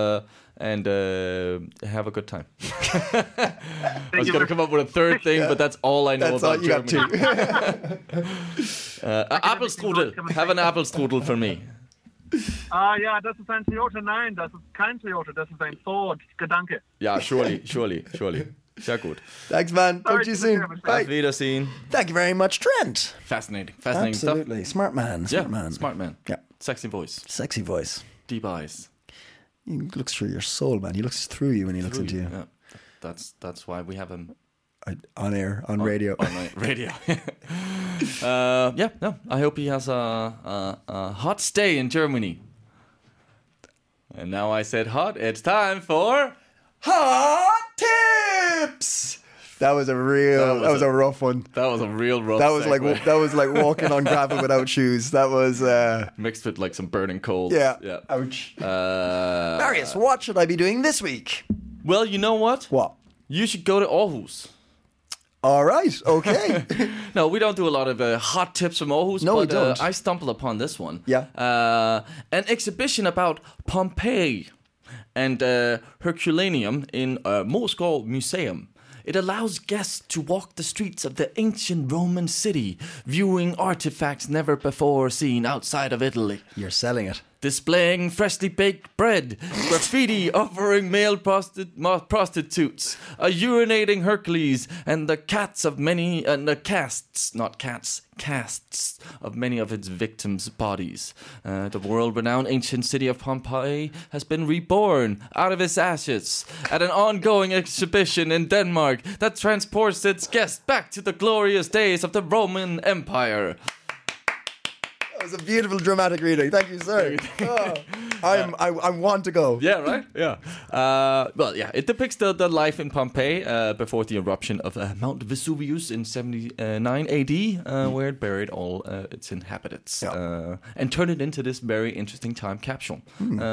have a good time. I was going to come up with a third thing, but that's all I know about Germany. Apfelstrudel. Have an Apfelstrudel for me. Ja, das ist ein Toyota. Nein, das ist kein Toyota. Das ist ein Ford. Gedanke. Yeah, surely. Sehr gut. Thanks, man. Talk to you soon. Auf Bye. Wiedersehen. Thank you very much, Trent. Fascinating Absolutely. stuff. Smart man. Smart man. Smart man. Yeah. Sexy voice. Sexy voice. Deep eyes. He looks through your soul, man. He looks through you when he looks into you. Yeah. That's why we have him On air, on radio. On radio. I hope he has a hot stay in Germany. And now I said hot. It's time for Hot tips. That was a real. That was a rough one. That was a real rough. That was segue. like walking on gravel without shoes. That was mixed with like some burning cold. yeah. Ouch. Marius, what should I be doing this week? Well, you know what? What? You should go to Aarhus. All right. Okay. No, we don't do a lot of hot tips from Aarhus. No, but, we don't. I stumbled upon this one. Yeah. An exhibition about Pompeii and Herculaneum in Moskva Museum. It allows guests to walk the streets of the ancient Roman city, viewing artifacts never before seen outside of Italy. You're selling it. Displaying freshly baked bread, graffiti offering male prostitutes, a urinating Hercules, and the casts of many of many of its victims' bodies. The world-renowned ancient city of Pompeii has been reborn out of its ashes at an ongoing exhibition in Denmark that transports its guests back to the glorious days of the Roman Empire. That was a beautiful dramatic reading. Thank you, sir. I want to go. Yeah, right? Yeah. It depicts the life in Pompeii before the eruption of Mount Vesuvius in 79 AD, where it buried all its inhabitants and turned it into this very interesting time capsule.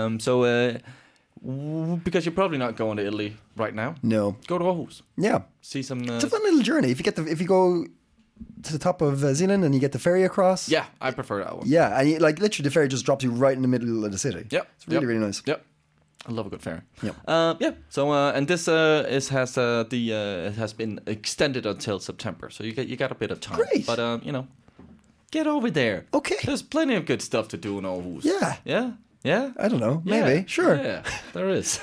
Because you're probably not going to Italy right now. No. Go to Aarhus. Yeah. See some... it's a fun little journey. If you go to the top of Zealand and you get the ferry across. Yeah, I prefer that one. Yeah, and literally the ferry just drops you right in the middle of the city. Yeah, it's really nice. Yep, I love a good ferry. Yep. So and this it has been extended until September, so you got a bit of time. Great. But get over there. Okay. There's plenty of good stuff to do in Aarhus. Yeah. Yeah. I don't know. Maybe. Sure. Yeah, there is.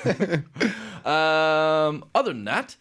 Other than that,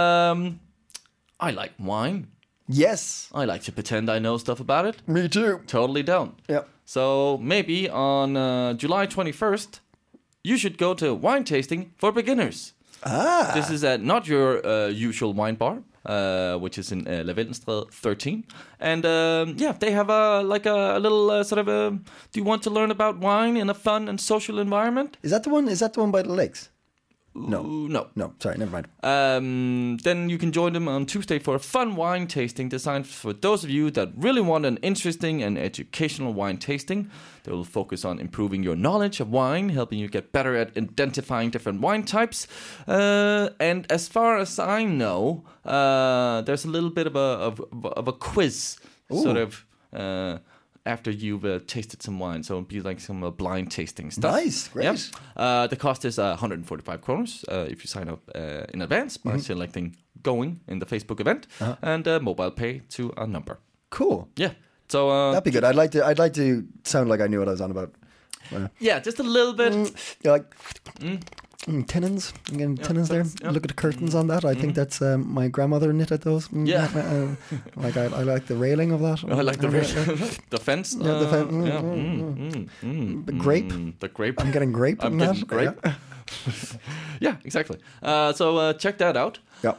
I like wine. Yes. I like to pretend I know stuff about it. Me too. Totally don't. Yep. So maybe on July 21st, you should go to wine tasting for beginners. This is at not your usual wine bar, which is in Lavendelstræde 13. And they have a little sort of do you want to learn about wine in a fun and social environment? Is that the one by the lakes? No. Sorry, never mind. Then you can join them on Tuesday for a fun wine tasting designed for those of you that really want an interesting and educational wine tasting. They will focus on improving your knowledge of wine, helping you get better at identifying different wine types. And as far as I know, there's a little bit of a quiz, sort of. After you've tasted some wine, so it'll be like some blind tasting stuff. Nice, great. Yep. The cost is 145 kroners if you sign up in advance by selecting going in the Facebook event and mobile pay to a number. Cool. Yeah. So that'd be good. I'd like to sound like I knew what I was on about. Yeah, just a little bit. You're like tenons. I'm getting tenons there. Yeah. Look at the curtains on that. I think that's my grandmother knitted those. Yeah. I like the railing of that. I like the the fence. Yeah, the fence. The grape. The grape. I'm getting grape. I'm in getting that. grape. Yeah. Yeah, exactly. So check that out. Yeah.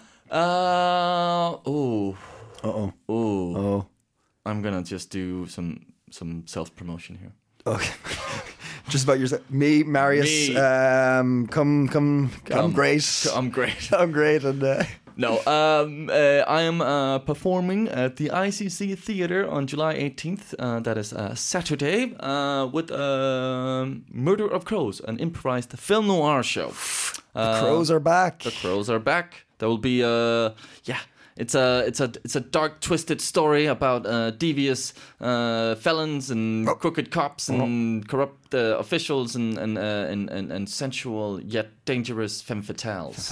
Oh. I'm gonna just do some self promotion here. Okay. Just about yourself. Me, Marius. Me. I'm great. I'm great. I'm great. And No, I am performing at the ICC Theatre on July 18th. That is Saturday with Murder of Crows, an improvised film noir show. the crows are back. The Crows are back. There will be It's a dark, twisted story about devious felons and crooked cops and corrupt officials and sensual yet dangerous femme fatales.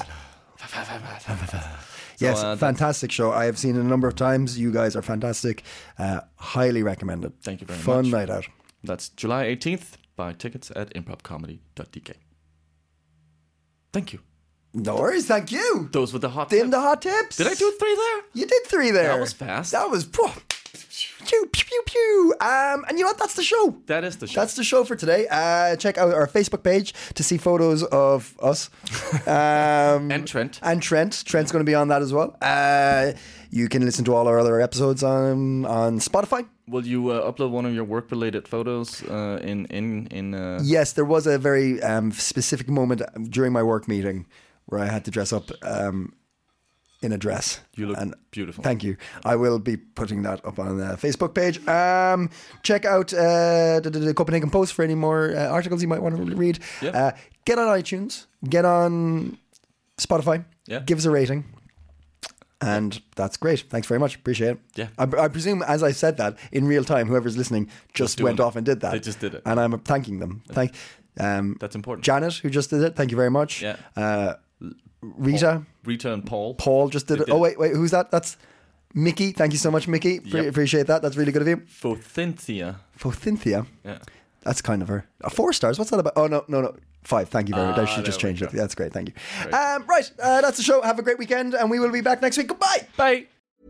Yes, fantastic show. I have seen it a number of times. You guys are fantastic. Highly recommend it. Thank you very much. Fun night out. That's July 18th. Buy tickets at improvcomedy.dk. Thank you. No worries, thank you. Those were the hot Them tips. the hot tips. Did I do 3 there? You did 3 there. That was fast. That was... Pew, pew, pew, pew. And you know what? That's the show. That is the show. That's the show for today. Check out our Facebook page to see photos of us. And Trent. And Trent. Trent's going to be on that as well. You can listen to all our other episodes on Spotify. Will you upload one of your work-related photos in Yes, there was a very specific moment during my work meeting where I had to dress up in a dress. You look beautiful. Thank you. I will be putting that up on the Facebook page. Check out the Copenhagen Post for any more articles you might want to read. Yep. Get on iTunes. Get on Spotify. Yeah. Give us a rating. And that's great. Thanks very much. Appreciate it. Yeah. I presume, as I said that, in real time, whoever's listening just went off and did that. They just did it. And I'm thanking them. That's important. Janet, who just did it. Thank you very much. Yeah. Rita. Rita and Paul. Paul just did it. Oh, wait. Who's that? That's Mickey. Thank you so much, Mickey. Appreciate that. That's really good of you. Phothinthia. Phothinthia. Yeah. That's kind of her. 4 stars. What's that about? Oh, no. 5. Thank you very much. I should just change it. That's great. Thank you. Right. That's the show. Have a great weekend, and we will be back next week. Goodbye. Bye.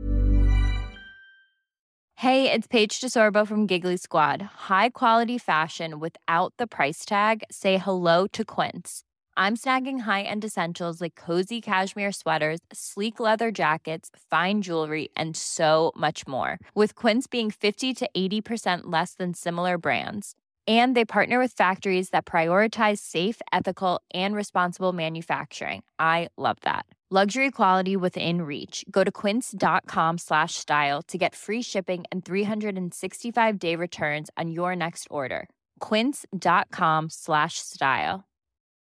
Hey, it's Paige DeSorbo from Giggly Squad. High quality fashion without the price tag. Say hello to Quince. I'm snagging high-end essentials like cozy cashmere sweaters, sleek leather jackets, fine jewelry, and so much more. With Quince being 50 to 80% less than similar brands. And they partner with factories that prioritize safe, ethical, and responsible manufacturing. I love that. Luxury quality within reach. Go to quince.com/style to get free shipping and 365-day returns on your next order. Quince.com/style.